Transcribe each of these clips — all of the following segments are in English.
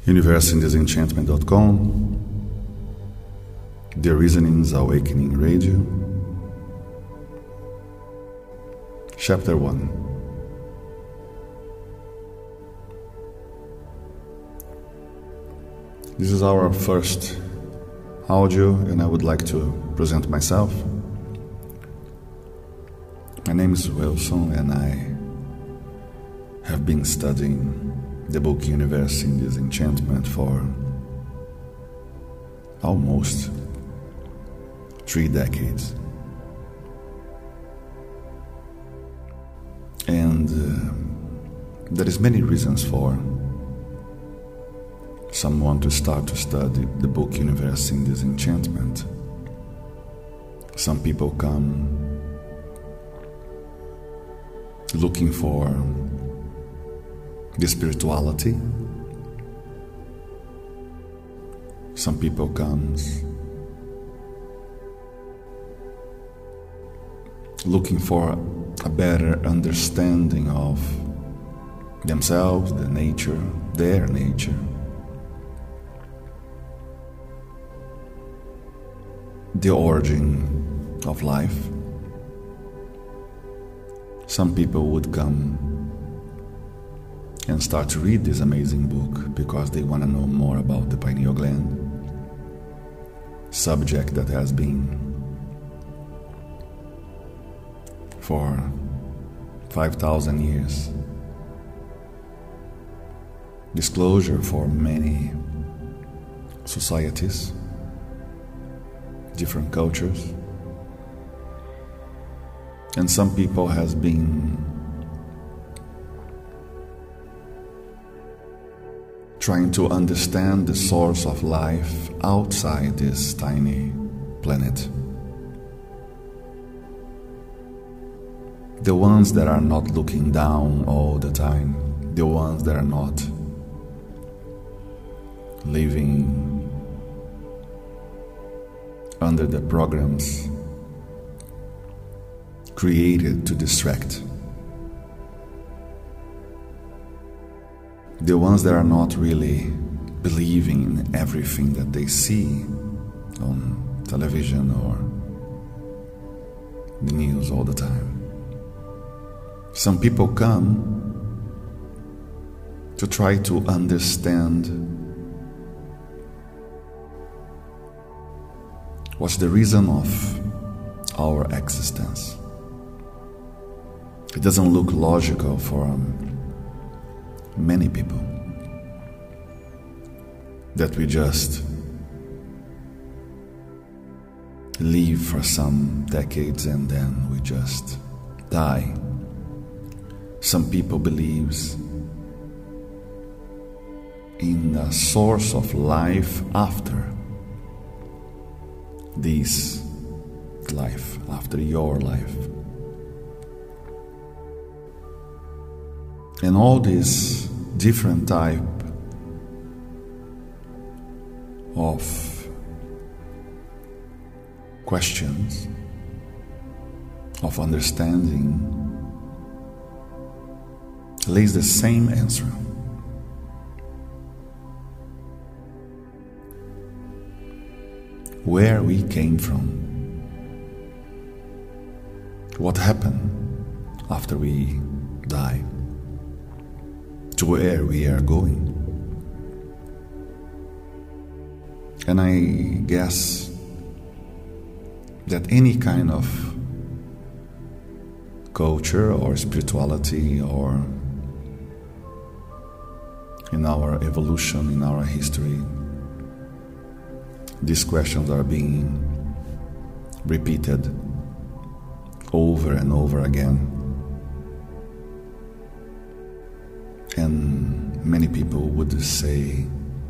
UniverseInDisenchantment.com, The Reasonings Awakening Radio, Chapter 1. This is our first audio, and I would like to present myself. My name is Wilson, and I have been studying the book Universe in Disenchantment for almost 3 decades. And there is many reasons for someone to start to study the book Universe in Disenchantment. Some people come looking for the spirituality. Some people comes looking for a better understanding of themselves, their nature, the origin of life. Some people would come and start to read this amazing book because they want to know more about the pineal gland, subject that has been for 5,000 years disclosure for many societies, different cultures. And some people has been trying to understand the source of life outside this tiny planet. The ones that are not looking down all the time, the ones that are not living under the programs created to distract. The ones that are not really believing in everything that they see on television or the news all the time. Some people come to try to understand what's the reason of our existence. It doesn't look logical for many people that we just live for some decades and then we just die. Some people believes in a source of life after this life, after your life. And all these different type of questions, of understanding, lays the same answer. Where we came from, what happened after we die, to where we are going. And I guess that any kind of culture or spirituality or in our evolution, in our history, these questions are being repeated over and over again. And many people would say,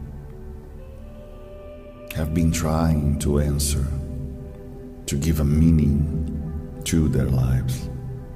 have been trying to answer, to give a meaning to their lives.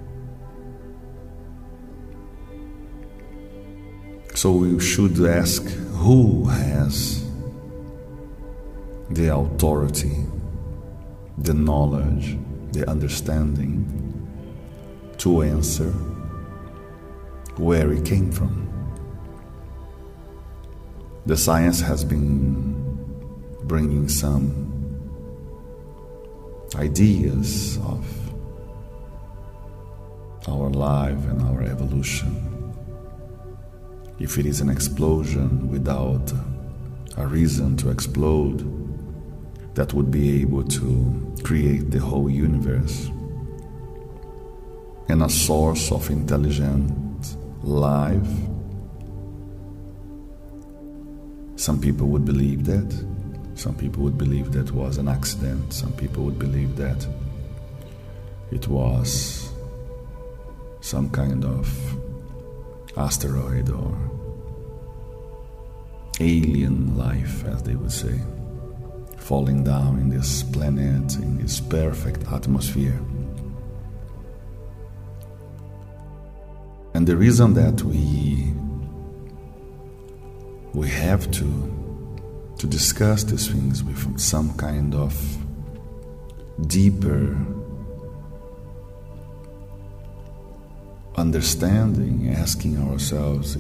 So we should ask, who has the authority, the knowledge, the understanding to answer where we came from? The science has been bringing some ideas of our life and our evolution. If it is an explosion without a reason to explode, that would be able to create the whole universe, and a source of intelligent life. Some people would believe that. Some people would believe that was an accident. Some people would believe that it was some kind of asteroid or alien life, as they would say, falling down in this planet, in this perfect atmosphere. And the reason that we have to discuss these things with some kind of deeper understanding, asking ourselves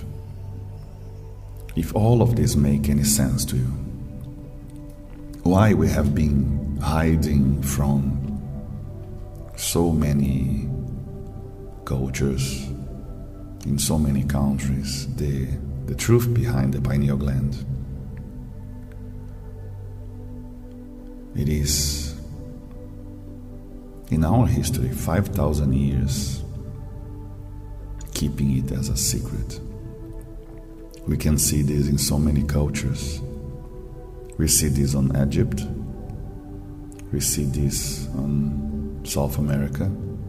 if all of this make any sense to you. Why we have been hiding from so many cultures in so many countries the truth behind the pineal gland. It is, in our history, 5,000 years keeping it as a secret. We can see this in so many cultures. We see this on Egypt. We see this on South America.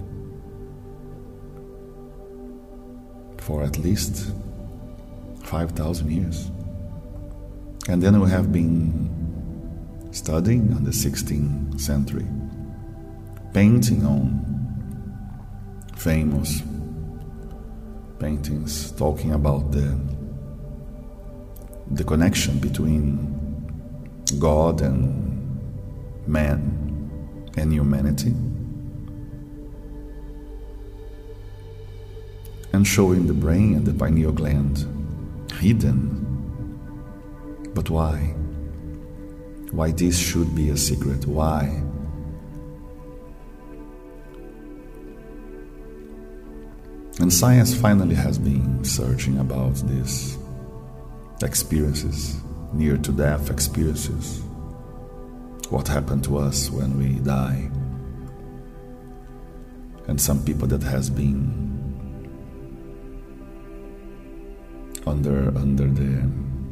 For at least 5,000 years. And then we have been studying on the 16th century, painting on famous paintings talking about the connection between God and man and humanity, and showing the brain and the pineal gland hidden. But why? Why this should be a secret? Why? And science finally has been searching about these experiences, near-to-death experiences. What happened to us when we die? And some people that has been under the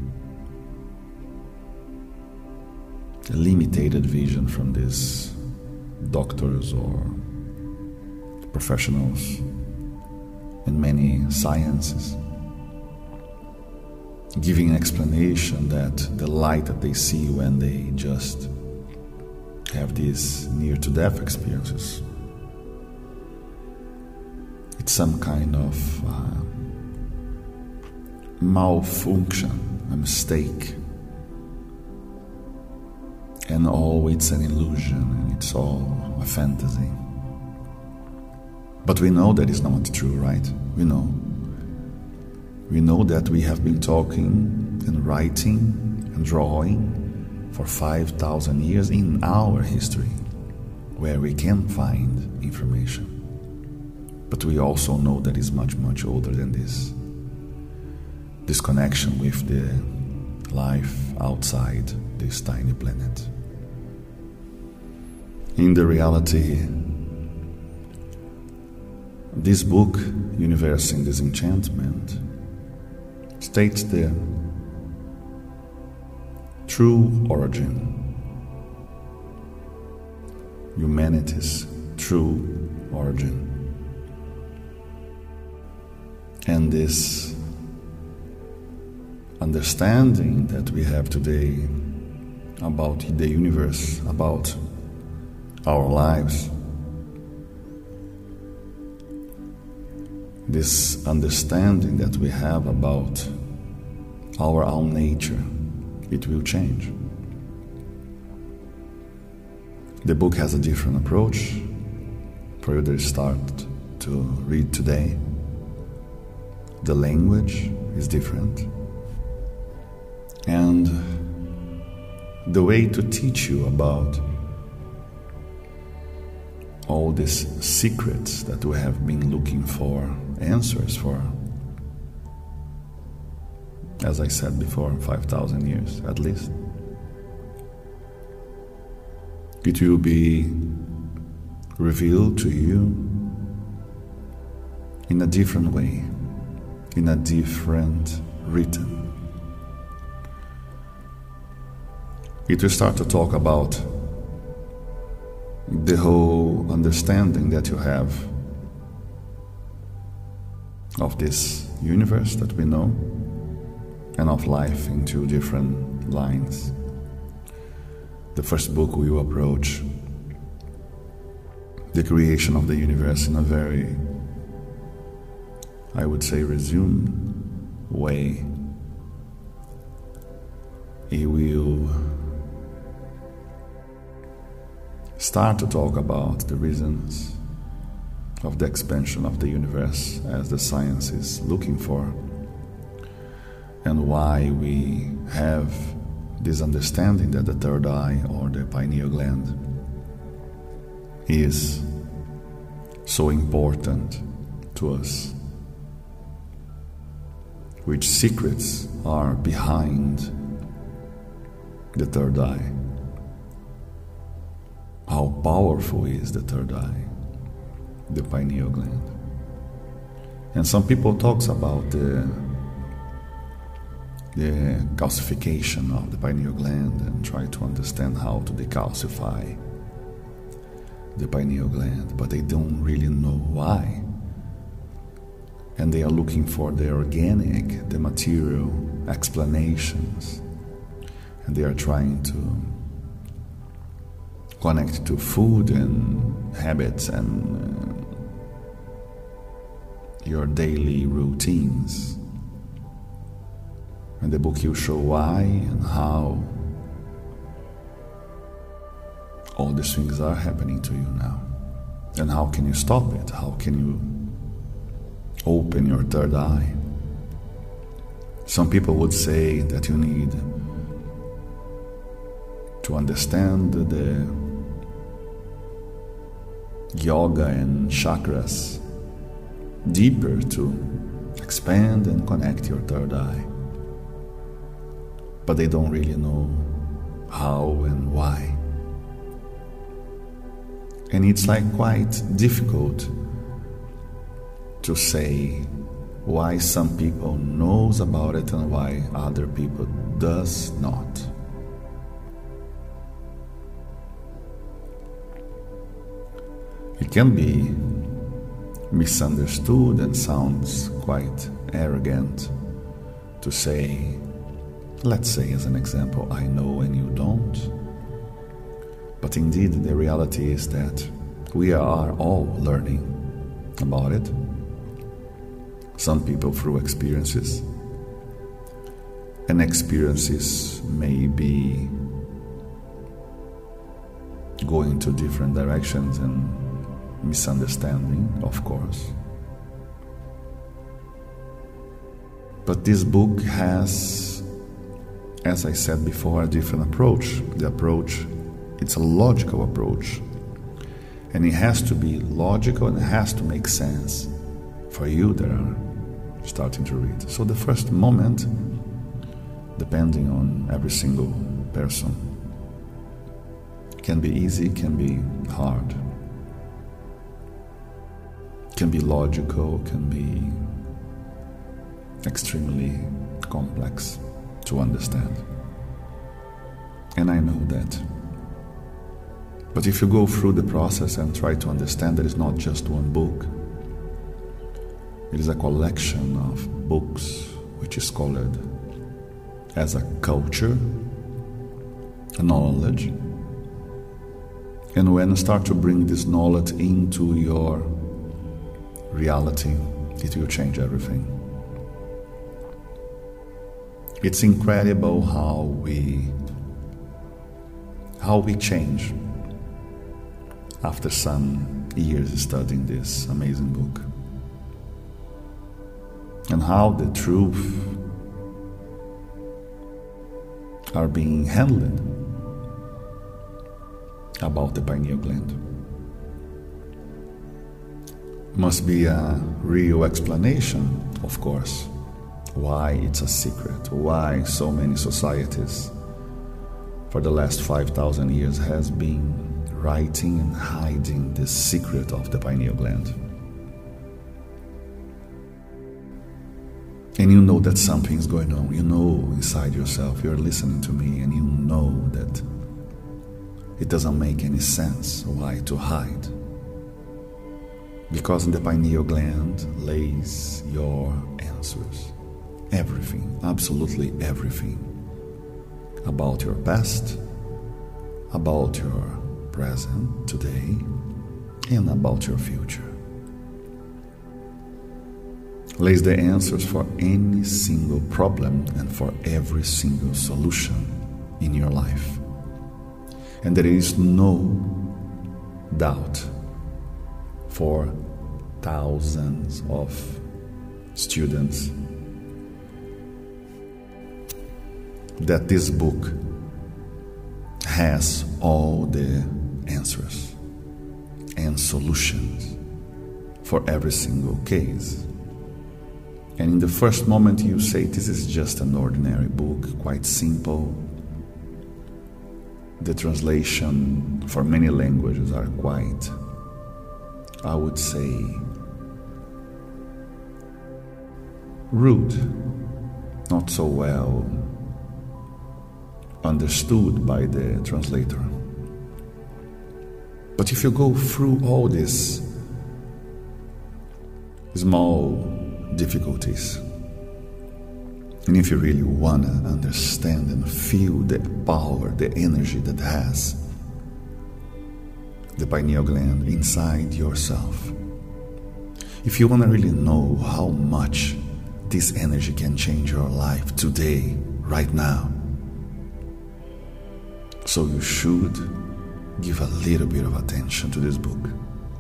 limited vision from these doctors or professionals in many sciences, giving an explanation that the light that they see when they just have these near-to-death experiences, it's some kind of malfunction, a mistake, and it's an illusion, and it's all a fantasy. But we know that is not true, right? We know that we have been talking and writing and drawing for 5,000 years in our history, where we can find information. But we also know that it's much, much older than this. This connection with the life outside this tiny planet. In the reality, this book, Universe in Disenchantment, states the true origin, humanity's true origin. And this understanding that we have today about the universe, about our lives, this understanding that we have about our own nature, it will change. The book has a different approach for you to start to read today. The language is different. And the way to teach you about all these secrets that we have been looking for answers for, as I said before, 5,000 years at least. It will be revealed to you in a different way, in a different rhythm. It will start to talk about the whole understanding that you have of this universe that we know, and of life in two different lines. The first book will approach the creation of the universe in a very, I would say, resumed way. It will start to talk about the reasons of the expansion of the universe as the science is looking for, and why we have this understanding that the third eye, or the pineal gland, is so important to us, which secrets are behind the third eye, how powerful is the third eye, the pineal gland. And some people talks about the calcification of the pineal gland and try to understand how to decalcify the pineal gland, but they don't really know why. And they are looking for the organic, the material explanations, and they are trying to connect to food and habits and your daily routines. And the book will show why and how all these things are happening to you now. And how can you stop it? How can you open your third eye? Some people would say that you need to understand the yoga and chakras deeper to expand and connect your third eye. But they don't really know how and why. And it's like quite difficult to say why some people knows about it and why other people does not. It can be misunderstood and sounds quite arrogant to say, let's say as an example, I know and you don't. But indeed the reality is that we are all learning about it. Some people through experiences, and experiences may be going to different directions and misunderstanding, of course. But this book has, as I said before, a different approach. The approach, it's a logical approach. And it has to be logical and it has to make sense for you that are starting to read. So the first moment, depending on every single person, can be easy, can be hard, can be logical, can be extremely complex to understand. And I know that. But if you go through the process and try to understand, there is not just one book. It is a collection of books which is called as a culture, a knowledge. And when you start to bring this knowledge into your reality, it will change everything. It's incredible how we change after some years studying this amazing book, and how the truth are being handled about the pineal gland. Must be a real explanation, of course, why it's a secret, why so many societies for the last 5,000 years has been writing and hiding the secret of the pineal gland. And you know that something is going on. You know inside yourself, you're listening to me, and you know that it doesn't make any sense why to hide. Because in the pineal gland lays your answers. Everything, absolutely everything. About your past, about your present, today, and about your future. Lays the answers for any single problem and for every single solution in your life. And there is no doubt for thousands of students that this book has all the answers and solutions for every single case. And in the first moment you say, this is just an ordinary book, quite simple. The translation for many languages are quite, I would say, rude, not so well understood by the translator. But if you go through all these small difficulties, and if you really want to understand and feel the power, the energy that has the pineal gland inside yourself, if you want to really know how much this energy can change your life today, right now, so you should give a little bit of attention to this book,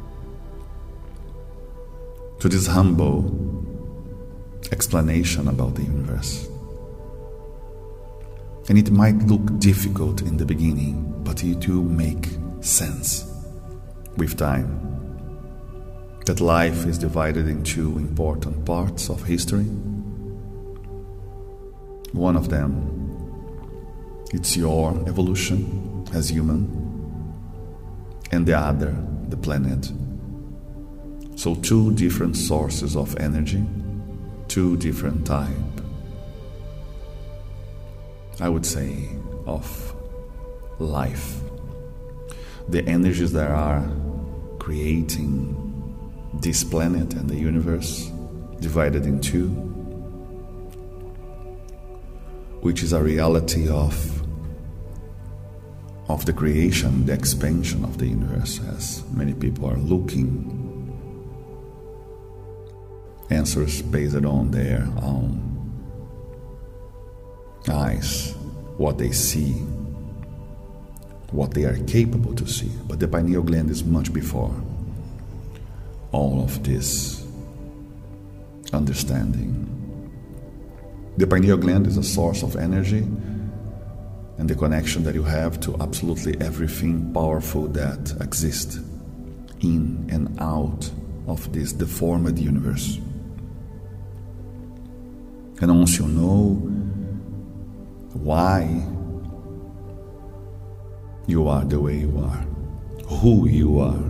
to this humble explanation about the universe. And it might look difficult in the beginning, but it will make sense with time. That life is divided into important parts of history. One of them, it's your evolution as human, and the other, the planet. So two different sources of energy, two different types, I would say, of life. The energies that are creating this planet and the universe divided in two, which is a reality of the creation, the expansion of the universe, as many people are looking. Answers based on their own eyes, what they see, what they are capable to see. But the pineal gland is much before all of this understanding. The pineal gland is a source of energy and the connection that you have to absolutely everything powerful that exists in and out of this deformed universe. And once you know why you are the way you are, who you are,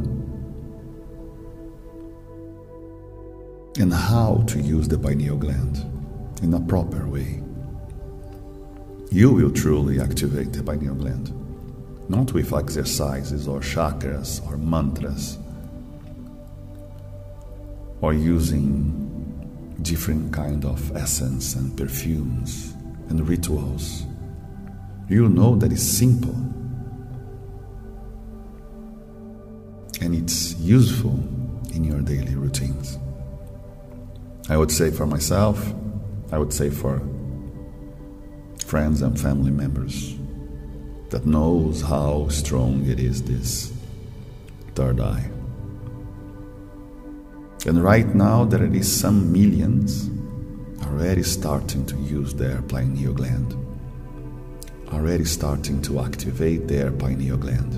and how to use the pineal gland in a proper way, you will truly activate the pineal gland, not with exercises or chakras or mantras, or using different kind of essence and perfumes and rituals. You know that it's simple and it's useful in your daily routines. I would say for myself, I would say for friends and family members that knows how strong it is, this third eye. And right now there is some millions already starting to use their pineal gland. already starting to activate their pineal gland.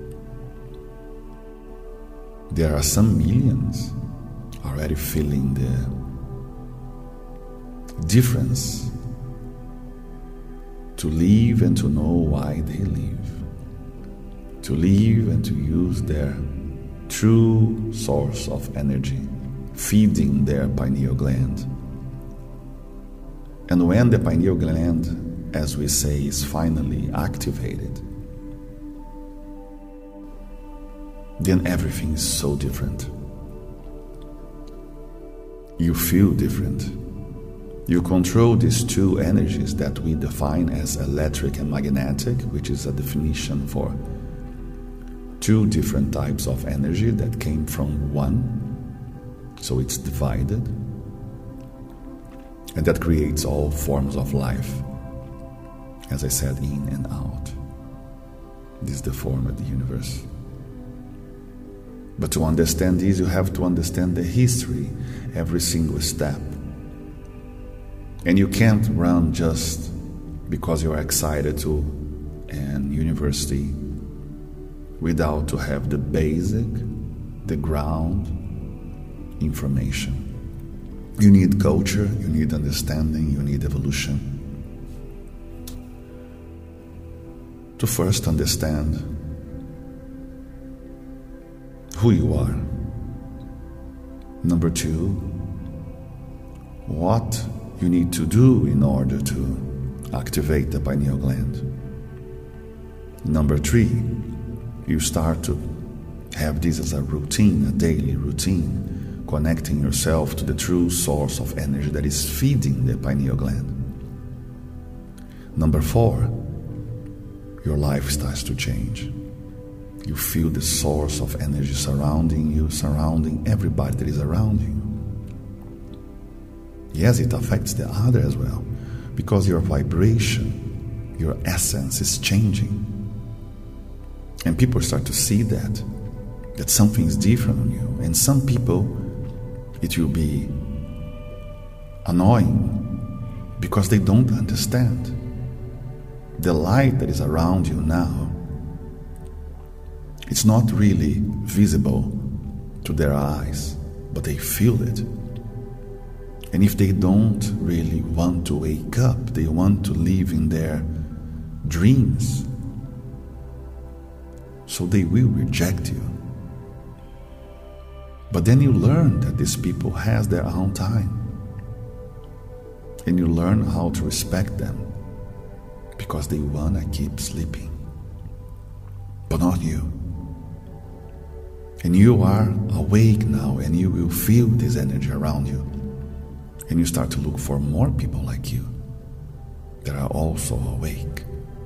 There are some millions already feeling the difference to live and to know why they live, to live and to use their true source of energy, feeding their pineal gland. And when the pineal gland, as we say, is finally activated, then everything is so different. You feel different. You control these two energies that we define as electric and magnetic, which is a definition for two different types of energy that came from one, so it's divided, and that creates all forms of life. As I said, in and out. This is the form of the universe. But to understand this, you have to understand the history, every single step. And you can't run just because you're excited to an university without to have the basic, the ground information. You need culture, you need understanding, you need evolution. To first understand who you are. Number two, what you need to do in order to activate the pineal gland. Number three, you start to have this as a routine, a daily routine, connecting yourself to the true source of energy that is feeding the pineal gland. Number four, your life starts to change. You feel the source of energy surrounding you, surrounding everybody that is around you. Yes, it affects the other as well, because your vibration, your essence is changing. And people start to see that something is different on you. And some people, it will be annoying because they don't understand. The light that is around you now, it's not really visible to their eyes, but they feel it. And if they don't really want to wake up, they want to live in their dreams, so they will reject you. But then you learn that these people has their own time, and you learn how to respect them because they want to keep sleeping, but not you. And you are awake now, and you will feel this energy around you. And you start to look for more people like you that are also awake.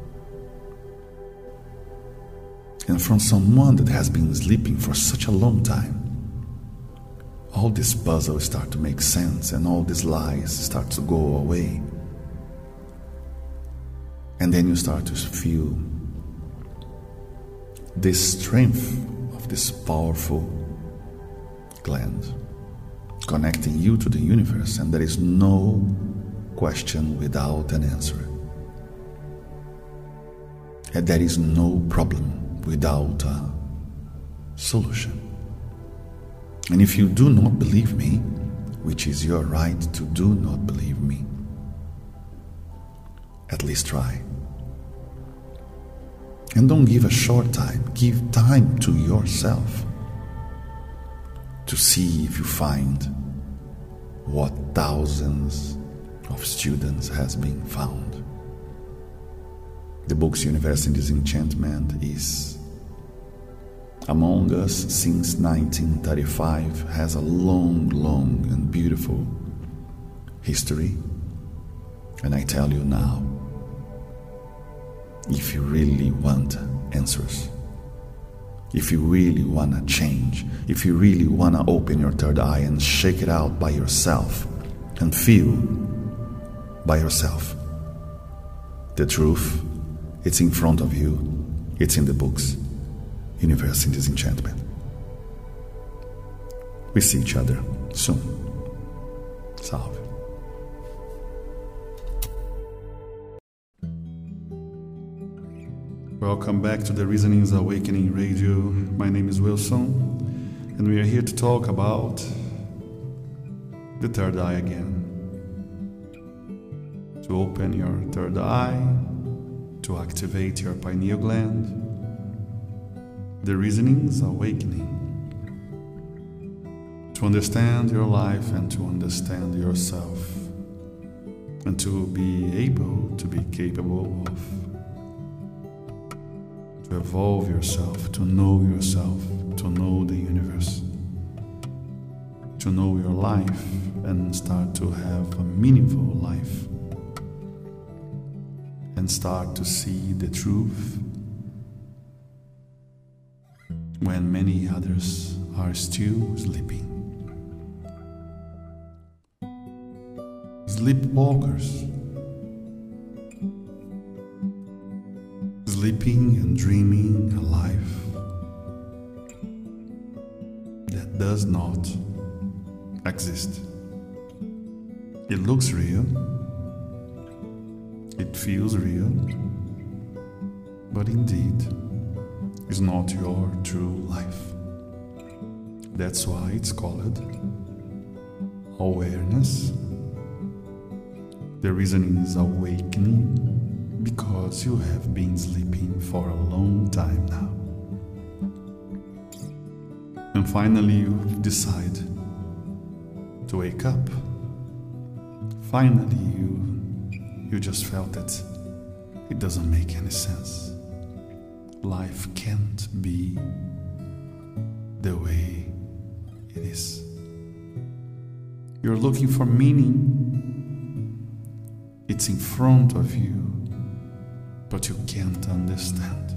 And from someone that has been sleeping for such a long time, all these puzzles start to make sense, and all these lies start to go away. And then you start to feel this strength of this powerful gland connecting you to the universe, and there is no question without an answer. And there is no problem without a solution. And if you do not believe me, which is your right to do not believe me, at least try. And don't give a short time, give time to yourself to see if you find what thousands of students has been found. The book's Universe in Disenchantment is among us since 1935, has a long and beautiful history. And I tell you now, if you really want answers, if you really want to change, if you really want to open your third eye and shake it out by yourself and feel by yourself, the truth, it's in front of you, it's in the books, Universe in Disenchantment. We see each other soon. Salve. Welcome back to the Reasonings Awakening Radio. My name is Wilson, and we are here to talk about the third eye again. To open your third eye, to activate your pineal gland. The Reasonings Awakening. To understand your life and to understand yourself, and to be able to be capable of. To evolve yourself, to know the universe, to know your life and start to have a meaningful life, and start to see the truth when many others are still sleeping. Sleepwalkers, sleeping and dreaming a life that does not exist. It looks real, it feels real, but indeed is not your true life. That's why it's called awareness. The reason is awakening, because you have been sleeping for a long time now. And finally you decide to wake up. Finally you just felt that it doesn't make any sense. Life can't be the way it is. You're looking for meaning. It's in front of you, but you can't understand.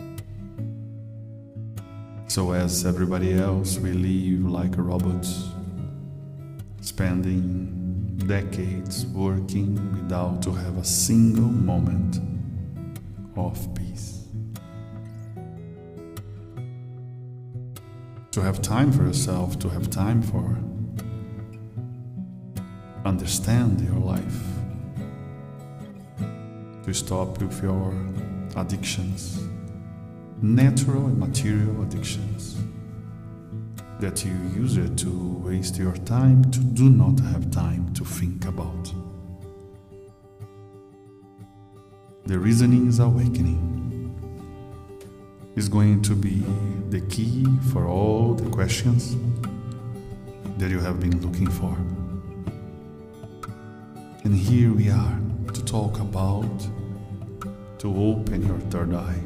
So as everybody else, we live like robots, spending decades working without to have a single moment of peace. To have time for yourself, to have time for understand your life. To stop with your addictions, natural and material addictions, that you use it to waste your time, to do not have time to think about. The Reasonings Awakening is going to be the key for all the questions that you have been looking for. And here we are to talk about, to open your third eye.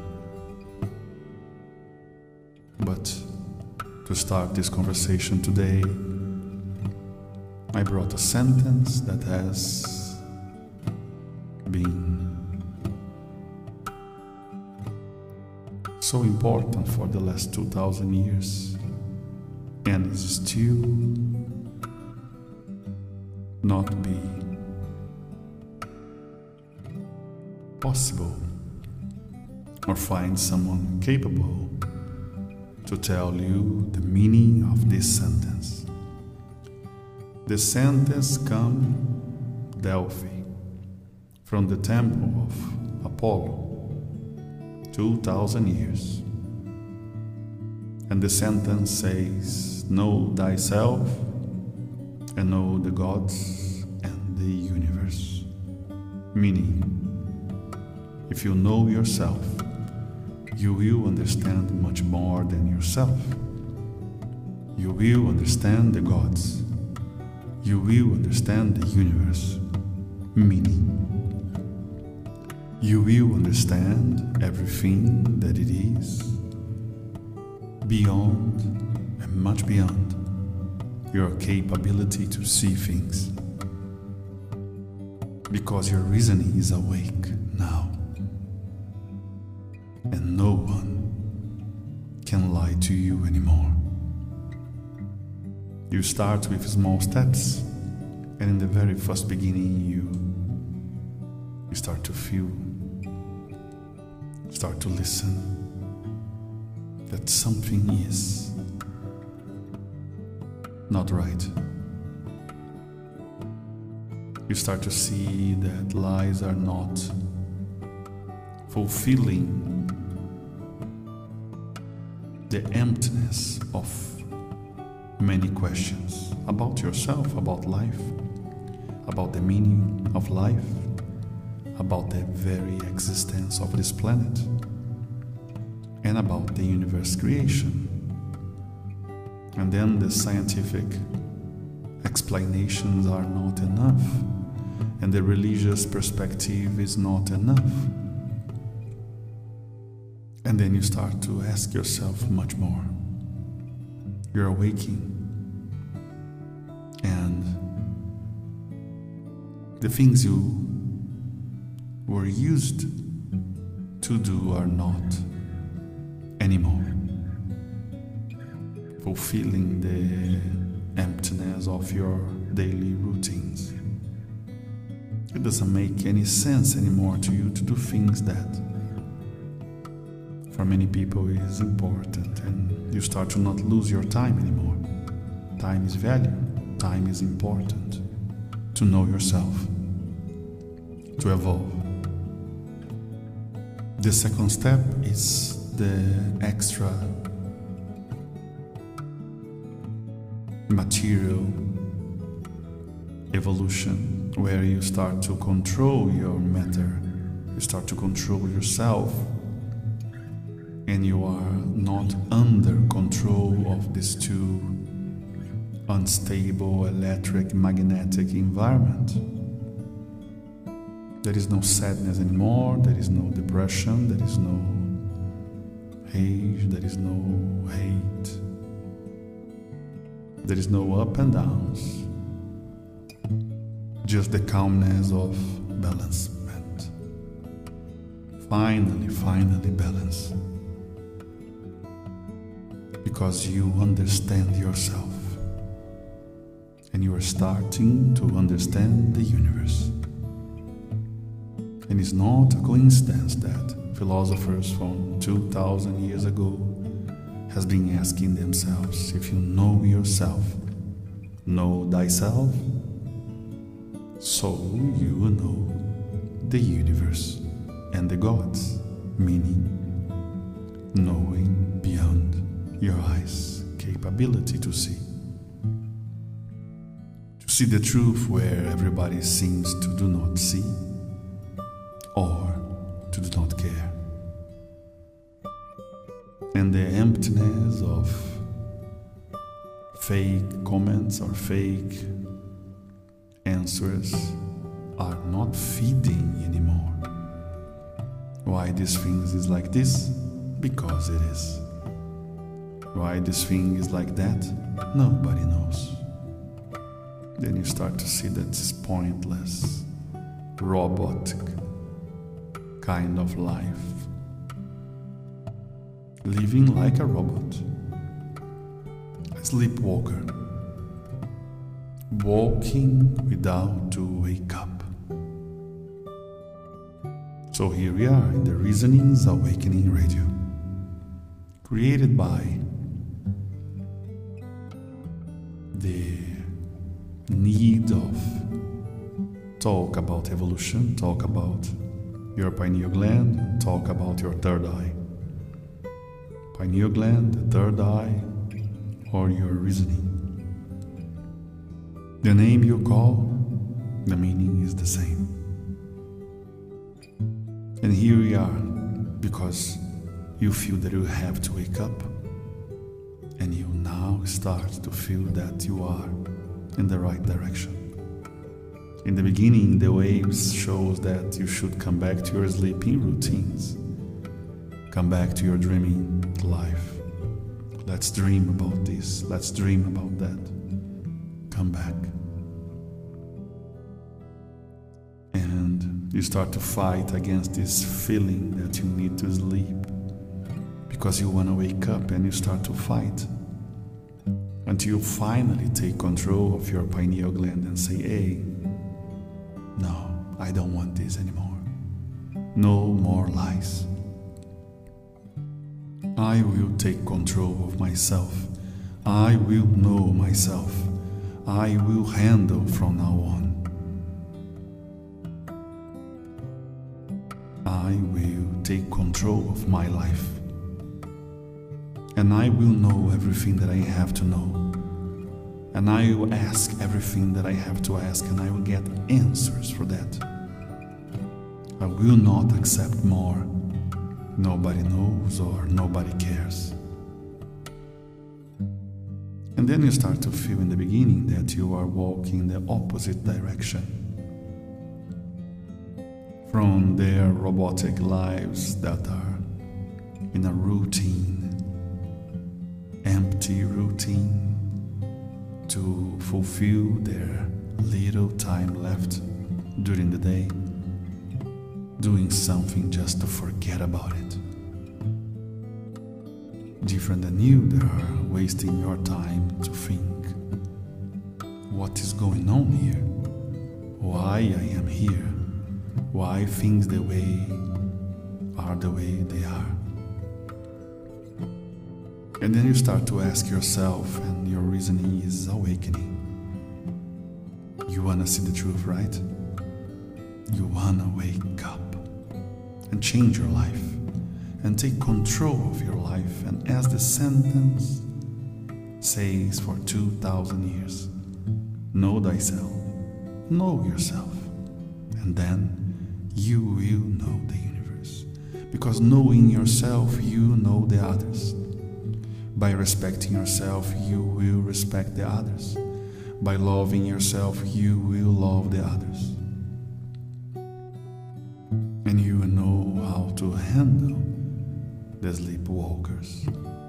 But to start this conversation today, I brought a sentence that has been so important for the last 2,000 years and is still not being possible, or find someone capable to tell you the meaning of this sentence. The sentence comes Delphi, from the temple of Apollo, 2,000 years. And the sentence says, know thyself and know the gods and the universe. Meaning, if you know yourself, you will understand much more than yourself. You will understand the gods. You will understand the universe. Meaning, you will understand everything that it is, beyond and much beyond your capability to see things. Because your reasoning is awake now. And no one can lie to you anymore. You start with small steps, and in the very first beginning you start to feel, start to listen, that something is not right. You start to see that lies are not fulfilling the emptiness of many questions about yourself, about life, about the meaning of life, about the very existence of this planet, and about the universe creation. And then the scientific explanations are not enough, and the religious perspective is not enough. And then you start to ask yourself much more. You're awaking, and the things you were used to do are not anymore fulfilling the emptiness of your daily routines. It doesn't make any sense anymore to you to do things that for many people is important, and you start to not lose your time anymore. Time is value, time is important to know yourself, to evolve. The second step is the extra material evolution, where you start to control your matter, you start to control yourself, and you are not under control of these two unstable electric magnetic environment. There is no sadness anymore, there is no depression, there is no age, there is no hate, there is no up and downs, just the calmness of balancement. Finally balance. Because you understand yourself, and you are starting to understand the universe. And it's not a coincidence that philosophers from 2,000 years ago has been asking themselves, if you know yourself, know thyself, so you will know the universe and the gods, meaning knowing beyond your eyes' capability to see the truth where everybody seems to do not see or to do not care. And the emptiness of fake comments or fake answers are not feeding anymore. Why this thing is like this? Because it is. Why this thing is like that? Nobody knows. Then you start to see that it's pointless, robotic kind of life. Living like a robot, a sleepwalker, walking without to wake up. So here we are in the Reasonings Awakening Radio, created by the need of talk about evolution, talk about your pineal gland, talk about your third eye. Pineal gland, the third eye, or your reasoning. The name you call, the meaning is the same. And here we are, because you feel that you have to wake up, and you now start to feel that you are in the right direction. In the beginning, the waves shows that you should come back to your sleeping routines. Come back to your dreaming life. Let's dream about this. Let's dream about that. Come back. And you start to fight against this feeling that you need to sleep, because you want to wake up, and you start to fight until you finally take control of your pineal gland and say, hey, no, I don't want this anymore. No more lies. I will take control of myself. I will know myself. I will handle from now on. I will take control of my life. And I will know everything that I have to know. And I will ask everything that I have to ask, and I will get answers for that. I will not accept more. Nobody knows or nobody cares. And then you start to feel in the beginning that you are walking in the opposite direction from their robotic lives that are in a routine, empty routine, to fulfill their little time left during the day, doing something just to forget about it. Different than you, they are wasting your time to think, what is going on here? Why I am here? Why things are the way they are? And then you start to ask yourself, and your reasoning is awakening. You want to see the truth, right? You want to wake up and change your life and take control of your life. And as the sentence says for 2,000 years, know thyself, know yourself, and then you will know the universe. Because knowing yourself, you know the others. By respecting yourself, you will respect the others. By loving yourself, you will love the others. And you will know how to handle the sleepwalkers,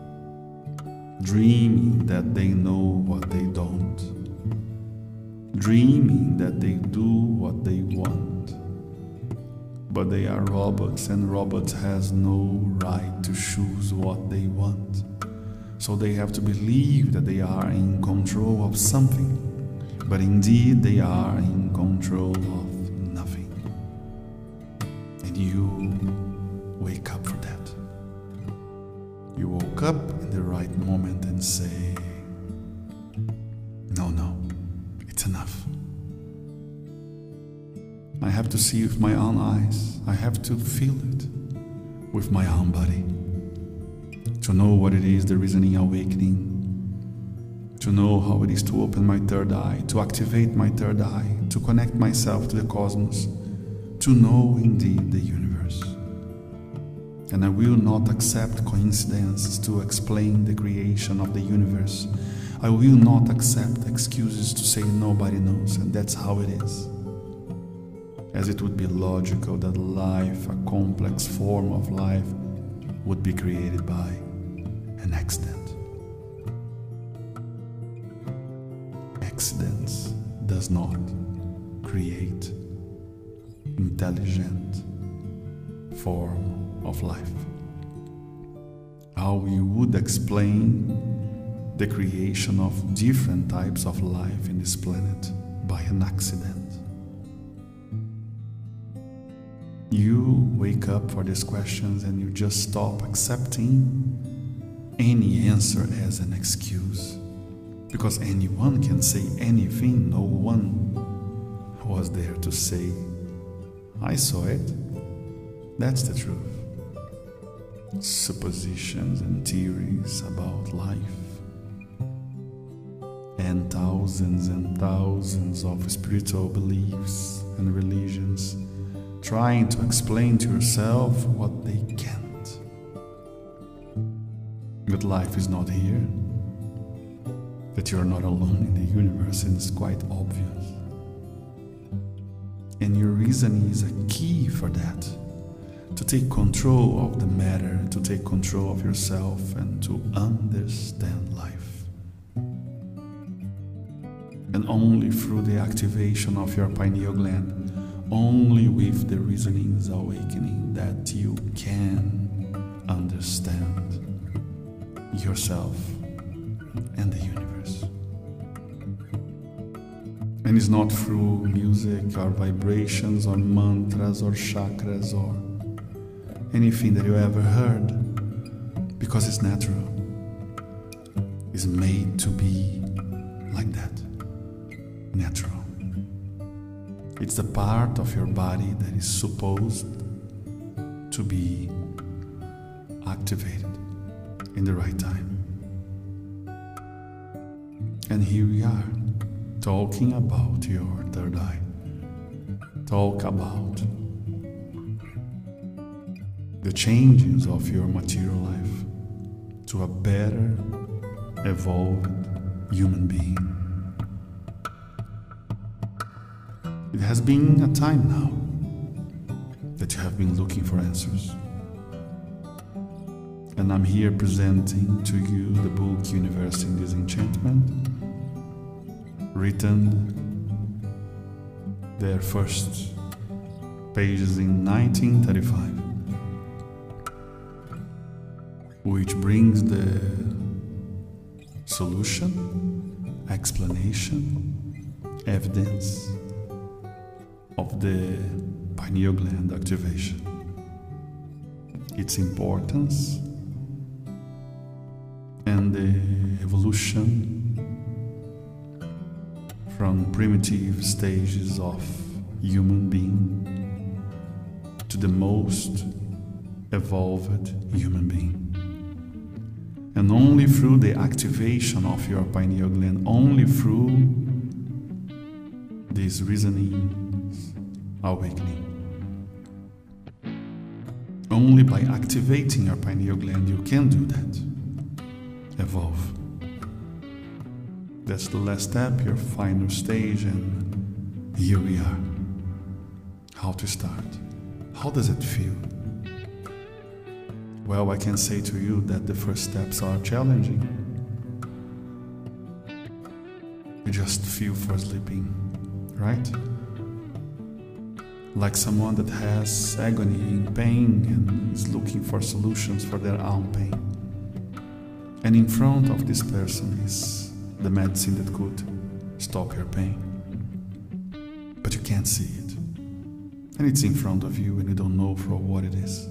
dreaming that they know what they don't, dreaming that they do what they want. But they are robots, and robots has no right to choose what they want. So they have to believe that they are in control of something, but indeed they are in control of nothing. And you wake up for that. You woke up in the right moment and say, no, it's enough. I have to see with my own eyes. I have to feel it with my own body. To know what it is, the reasoning awakening. To know how it is to open my third eye, to activate my third eye, to connect myself to the cosmos, to know indeed the universe. And I will not accept coincidences to explain the creation of the universe. I will not accept excuses to say nobody knows, and that's how it is. As it would be logical that life, a complex form of life, would be created by an accident. Accidents does not create intelligent form of life. How you would explain the creation of different types of life in this planet by an accident? You wake up for these questions and you just stop accepting any answer as an excuse. Because anyone can say anything, no one was there to say, I saw it. That's the truth. Suppositions and theories about life, and thousands of spiritual beliefs and religions trying to explain to yourself what they can't. That life is not here, that you are not alone in the universe, and it's quite obvious. And your reasoning is a key for that, to take control of the matter, to take control of yourself, and to understand life. And only through the activation of your pineal gland, only with the reasonings awakening, that you can understand yourself and the universe. And it's not through music or vibrations or mantras or chakras or anything that you ever heard, because it's natural. It's made to be like that, natural. It's the part of your body that is supposed to be activated in the right time. And here we are, talking about your third eye. Talk about the changes of your material life to a better, evolved human being. It has been a time now that you have been looking for answers. And I'm here presenting to you the book Universe in Disenchantment, written their first pages in 1935, which brings the solution, explanation, evidence of the pineal gland activation, its importance, and the evolution from primitive stages of human being to the most evolved human being. And only through the activation of your pineal gland, only through this reasoning awakening, only by activating your pineal gland you can do that. Evolve. That's the last step, your final stage, and here we are. How to start? How does it feel? Well, I can say to you that the first steps are challenging. You just feel for sleeping, right? Like someone that has agony and pain and is looking for solutions for their own pain. And in front of this person is the medicine that could stop your pain. But you can't see it. And it's in front of you and you don't know for what it is.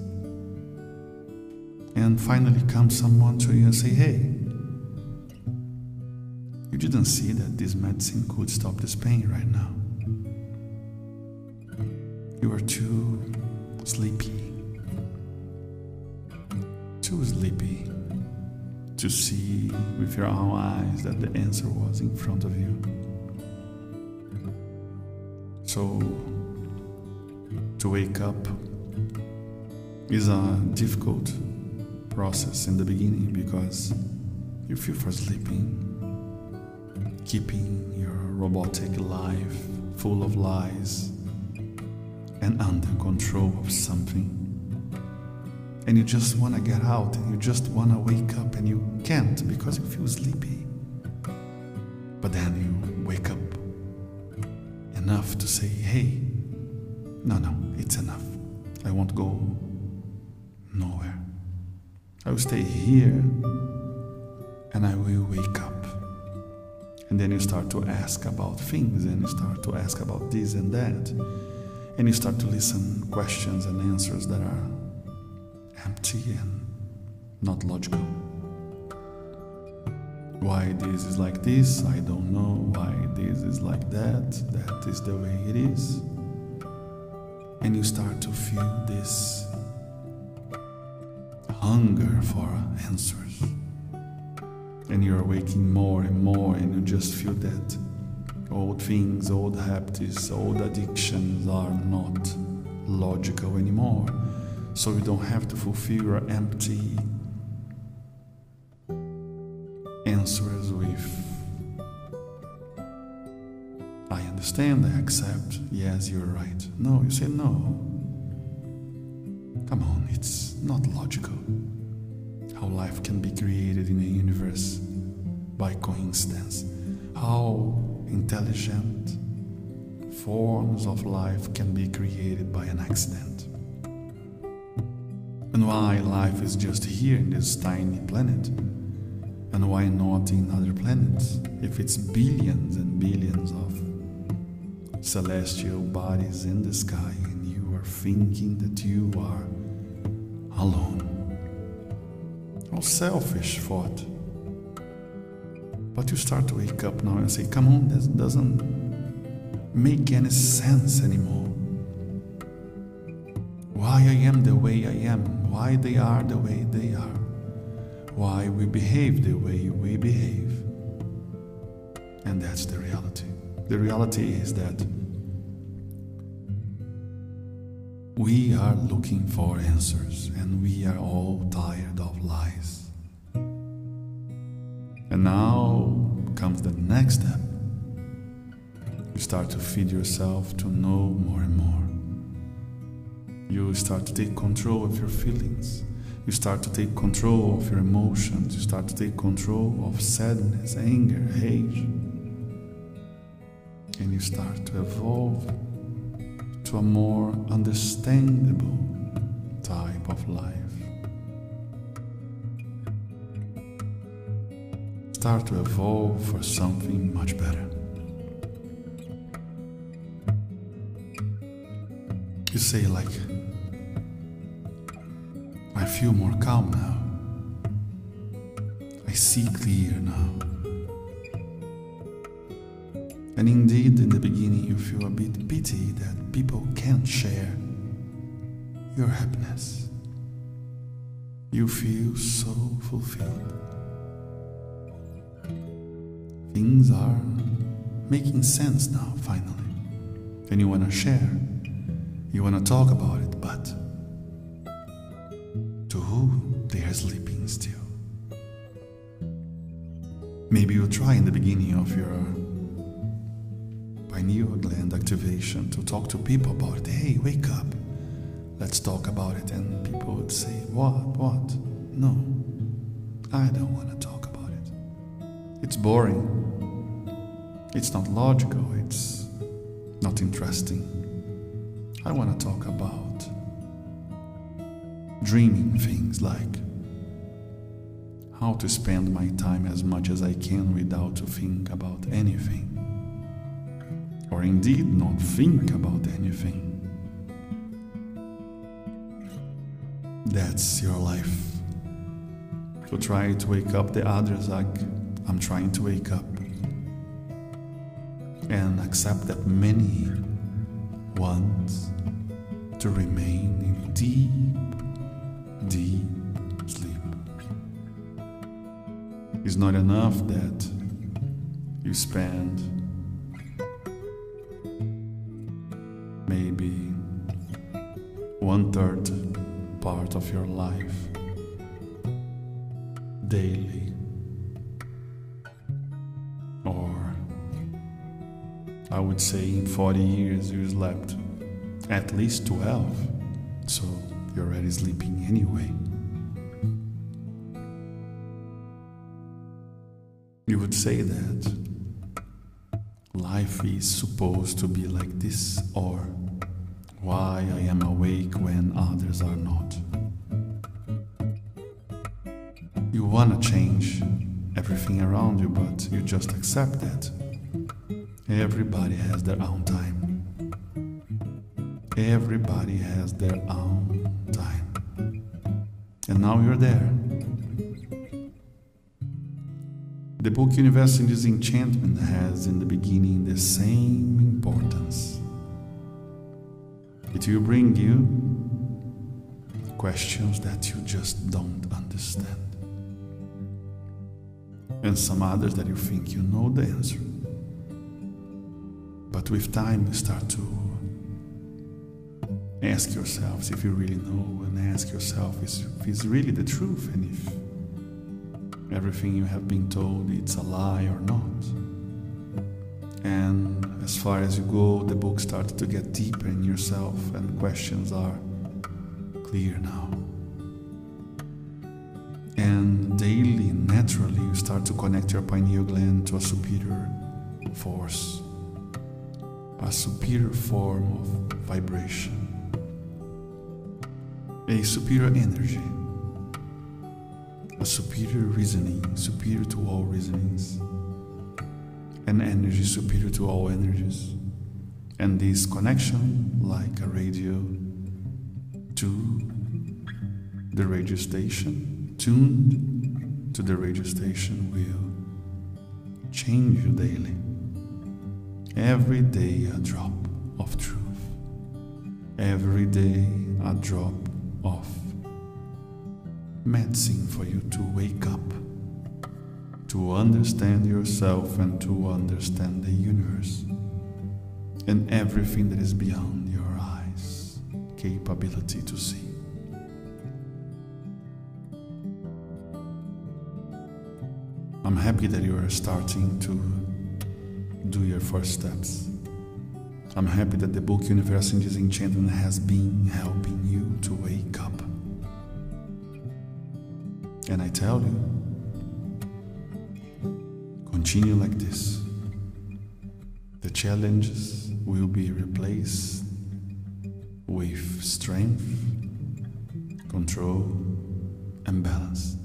And finally comes someone to you and say, hey, you didn't see that this medicine could stop this pain right now. You are too sleepy to see with your own eyes that the answer was in front of you. So, to wake up is a difficult process in the beginning because you feel for sleeping, keeping your robotic life full of lies and under control of something. And you just want to get out and you just want to wake up and you can't because you feel sleepy. But then you wake up enough to say, hey, no, it's enough. I won't go nowhere. I will stay here and I will wake up. And then you start to ask about things and you start to ask about this and that. And you start to listen questions and answers that are empty and not logical. Why this is like this, I don't know. Why this is like that, that is the way it is. And you start to feel this hunger for answers. And you're waking more and more and you just feel that old things, old habits, old addictions are not logical anymore. So you don't have to fulfill your empty answers with I understand, I accept, yes, you're right. No, you say no. Come on, it's not logical how life can be created in a universe by coincidence. How intelligent forms of life can be created by an accident. And why life is just here in this tiny planet? And why not in other planets? If it's billions and billions of celestial bodies in the sky and you are thinking that you are alone. How selfish thought. But you start to wake up now and say, come on, this doesn't make any sense anymore. why I am the way I am, why they are the way they are, why we behave the way we behave. And that's the reality. The reality is that we are looking for answers, and we are all tired of lies. And now comes the next step. You start to feed yourself to know more and more. You start to take control of your feelings. You start to take control of your emotions. You start to take control of sadness, anger, hate. And you start to evolve to a more understandable type of life. Start to evolve for something much better. You say like, I feel more calm now. I see clear now. And indeed, in the beginning, you feel a bit pity that people can't share your happiness. You feel so fulfilled. Things are making sense now, finally. And you want to share. You want to talk about it, but to who they are sleeping still. Maybe you try in the beginning of your pineal gland activation to talk to people about it. Hey, wake up, let's talk about it. And people would say, what? No, I don't want to talk about it. It's boring. It's not logical. It's not interesting. I want to talk about dreaming things like how to spend my time as much as I can without to think about anything. Or indeed not think about anything. That's your life. To try to wake up the others like I'm trying to wake up. And accept that many want to remain in deep sleep. It's not enough that you spend maybe 1/3 part of your life daily, or I would say in 40 years you slept at least 12, so you're already sleeping anyway. You would say that life is supposed to be like this, or why I am awake when others are not. You want to change everything around you, but you just accept that everybody has their own time. Everybody has their own time. And now you're there. The book Universe in Disenchantment has in the beginning the same importance. It will bring you questions that you just don't understand. And some others that you think you know the answer. But with time you start to ask yourselves if you really know, and ask yourself if it's really the truth, and if everything you have been told it's a lie or not. And as far as you go, the book starts to get deeper in yourself, and questions are clear now. And daily, naturally, you start to connect your pineal gland to a superior force, a superior form of vibration, a superior energy, a superior reasoning, superior to all reasonings, an energy superior to all energies. And this connection, like a radio to the radio station, tuned to the radio station, will change you daily. Every day a drop of truth. Every day a drop of medicine for you to wake up, to understand yourself and to understand the universe and everything that is beyond your eyes' capability to see. I'm happy that you are starting to do your first steps. I'm happy that the book Universe in Disenchantment has been helping you to wake up. And I tell you, continue like this. The challenges will be replaced with strength, control, and balance.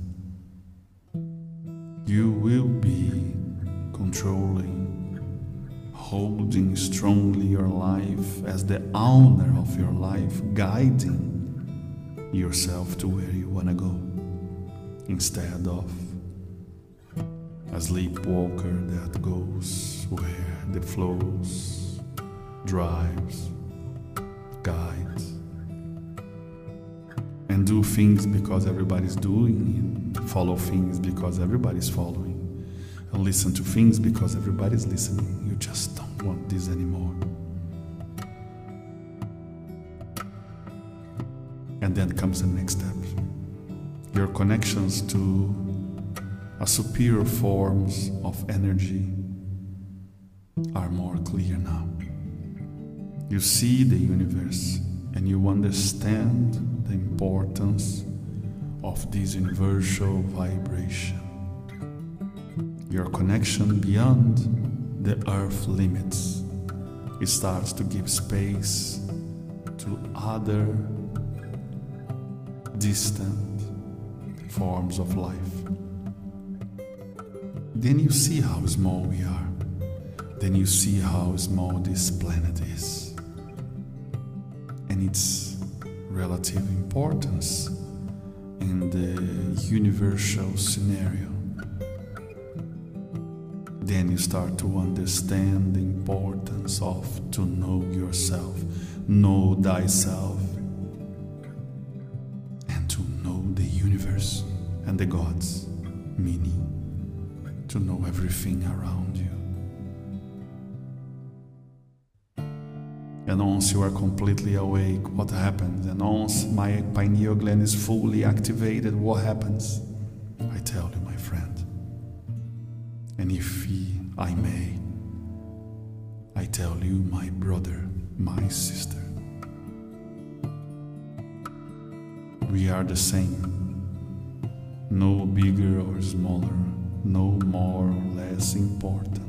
You will be controlling, holding strongly your life as the owner of your life, guiding yourself to where you want to go, instead of a sleepwalker that goes where the flows, drives, guides, and do things because everybody's doing, and follow things because everybody's following, and listen to things because everybody's listening. You just don't want this anymore. And then comes the next step. Your connections to a superior forms of energy are more clear now. You see the universe and you understand the importance of this universal vibration. Your connection beyond the earth limits. It starts to give space to other distant forms of life. Then you see how small we are. Then you see how small this planet is and its relative importance in the universal scenario. Then you start to understand the importance of to know yourself, know thyself, and to know the universe and the gods, meaning to know everything around you. And once you are completely awake, what happens? And once my pineal gland is fully activated, what happens? I tell you, my friend. And if I may, I tell you, my brother, my sister, we are the same. No bigger or smaller, no more or less important.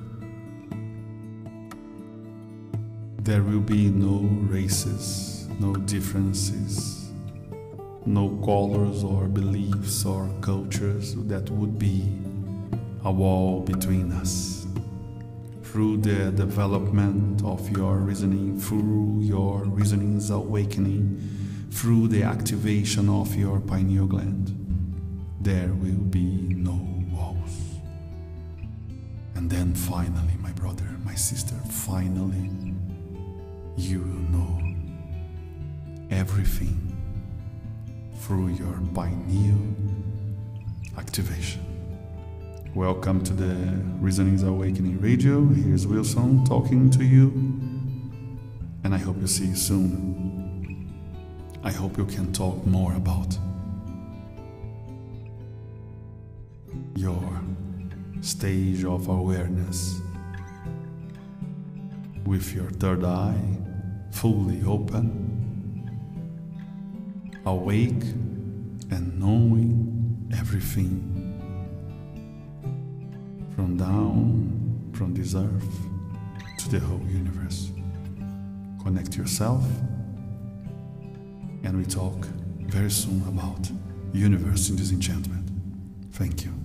There will be no races, no differences, no colors or beliefs or cultures that would be a wall between us. Through the development of your reasoning, through your reasoning's awakening, through the activation of your pineal gland, there will be no walls. And then finally, my brother, my sister, finally, you will know everything through your pineal activation. Welcome to the Reasonings Awakening Radio. Here's Wilson talking to you, and I hope you see you soon. I hope you can talk more about your stage of awareness with your third eye fully open, awake and knowing everything from this earth to the whole universe. Connect yourself, and we talk very soon about Universe in Disenchantment. Thank you.